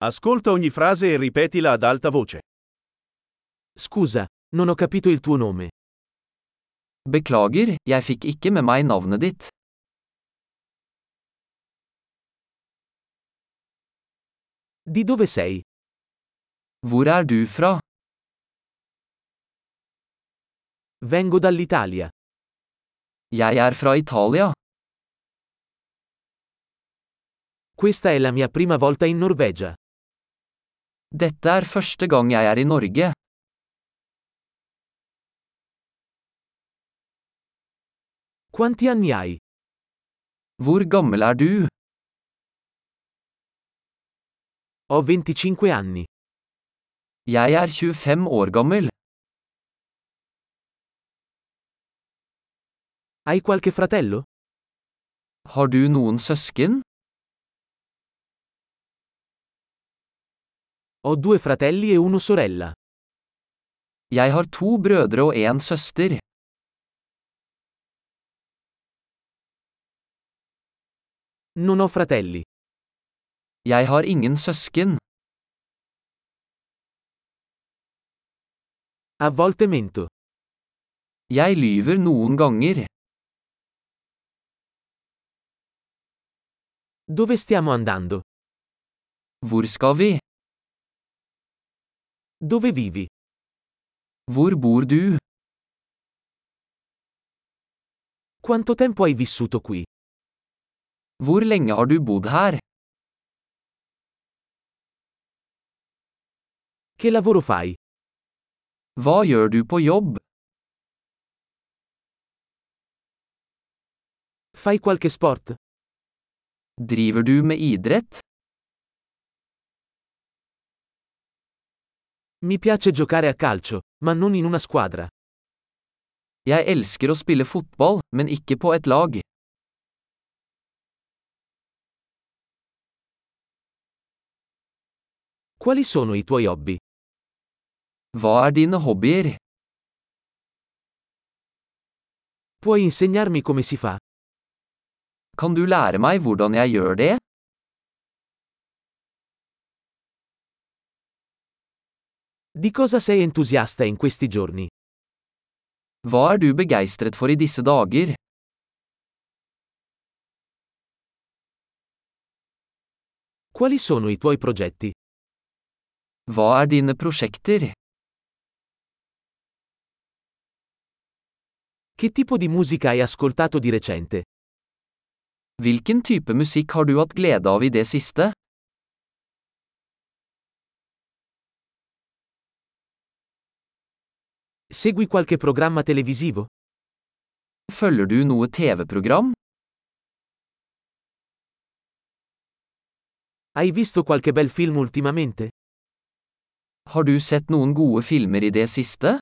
Ascolta ogni frase e ripetila ad alta voce. Scusa, non ho capito il tuo nome. Beklager, jeg fikk ikke med meg navnet ditt. Di dove sei? Hvor er du fra? Vengo dall'Italia. Jeg er fra Italia. Questa è la mia prima volta in Norvegia. Dette er første gang jeg er i Norge. Quanti anni hai? Hvor gammel er du? Ho 25 anni. Jeg er 25 år gammel. Hai qualche fratello? Har du noen søsken? Ho 2 fratelli e una sorella. Jeg har 2 brødre og en søster. Non ho fratelli. Jeg har ingen søsken. A volte mento. Jeg lyver noen ganger. Dove stiamo andando? Hvor skal vi? Dove vivi? Hvor bor du? Quanto tempo hai vissuto qui? Hvor lenge har du bodd her? Che lavoro fai? Hva gjør du på jobb? Fai qualche sport? Driver du med idrett? Mi piace giocare a calcio, ma non in una squadra. Jeg elsker å spille fotball, men ikke på et lag. Quali sono i tuoi hobby? Hva er dine hobbyer? Puoi insegnarmi come si fa? Kan du lære meg hvordan jeg gjør det? Di cosa sei entusiasta in questi giorni? Hva er du begeistret for i disse dager? Quali sono i tuoi progetti? Hva er dine prosjekter? Che tipo di musica hai ascoltato di recente? Hvilken type musikk har du hatt glede av i det siste? Segui qualche programma televisivo? Følger du noe TV-program? Hai visto qualche bel film ultimamente? Har du sett noen gode filmer i det siste?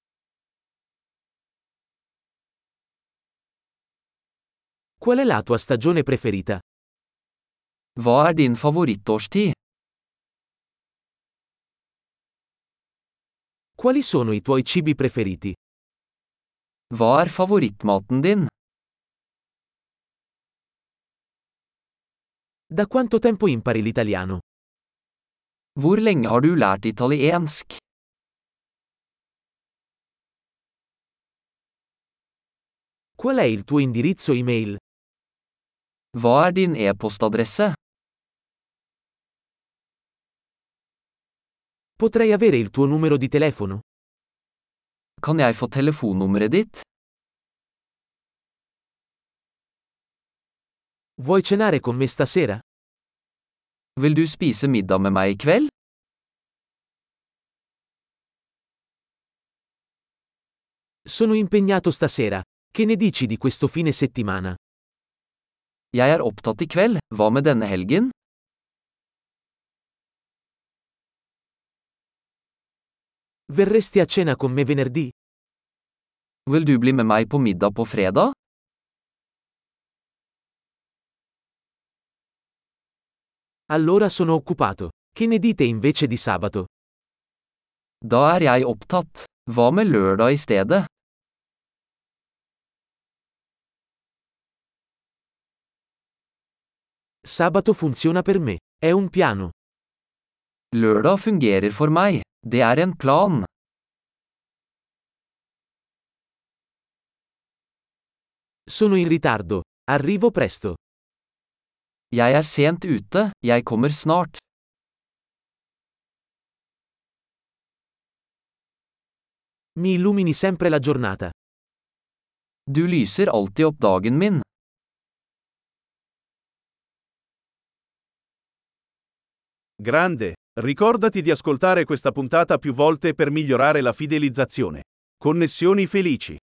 Qual è la tua stagione preferita? Hva er din favorittårstid? Quali sono i tuoi cibi preferiti? Hva er favorittmaten din? Da quanto tempo impari l'italiano? Hvor lenge har du lært italiensk? Qual è il tuo indirizzo email? Hva er din e-postadresse? Potrei avere il tuo numero di telefono? Kan jeg få telefonnummeret ditt? Vuoi cenare con me stasera? Vil du spise middag med meg i kveld? Sono impegnato stasera. Che ne dici di questo fine settimana? Jeg er opptatt i kveld, hva med denne helgen? Verresti a cena con me venerdì? Vil du bli med meg på middag på fredag? Allora sono occupato. Che ne dite invece di sabato? Da er jeg opptatt. Hva med lørdag i stedet? Sabato funziona per me. È un piano. Lørdag fungerer for meg. Det er en plan. Sono in ritardo. Arrivo presto. Jeg er sent ute, jeg kommer snart. Mi illumini sempre la giornata. Du lyser alltid opp dagen min. Grande, ricordati di ascoltare questa puntata più volte per migliorare la fidelizzazione. Connessioni felici.